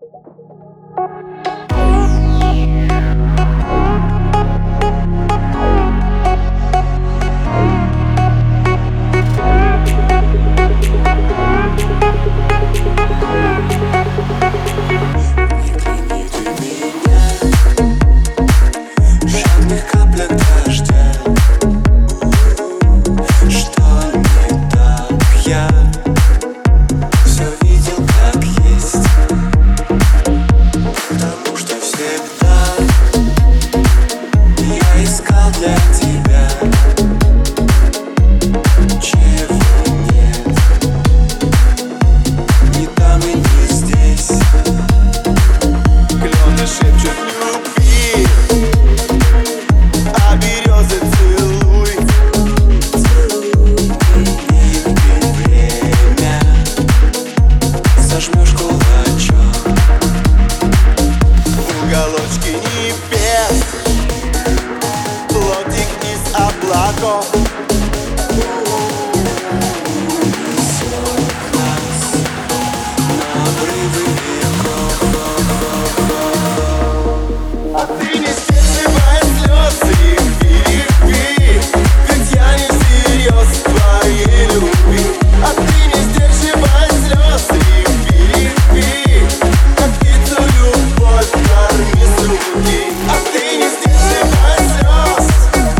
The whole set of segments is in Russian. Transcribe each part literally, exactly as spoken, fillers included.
Для тебя чего нет, ни там и не здесь. Клены шепчут любви, а березы целуй. И ты время зажмешь кулачок в уголочке небес. Плотик из облаков несет нас на обрывы веков. А ты не сдерживай слез и перепи, ведь я не всерьез твоей любви. А ты не сдерживай слез и перепи, как птицу любовь корми с руки. А ты не сдерживай слез.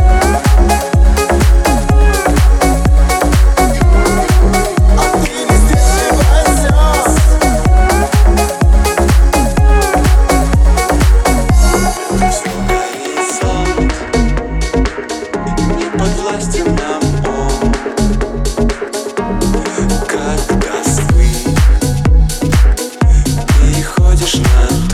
Подвластен нам он, как до свы переходишь на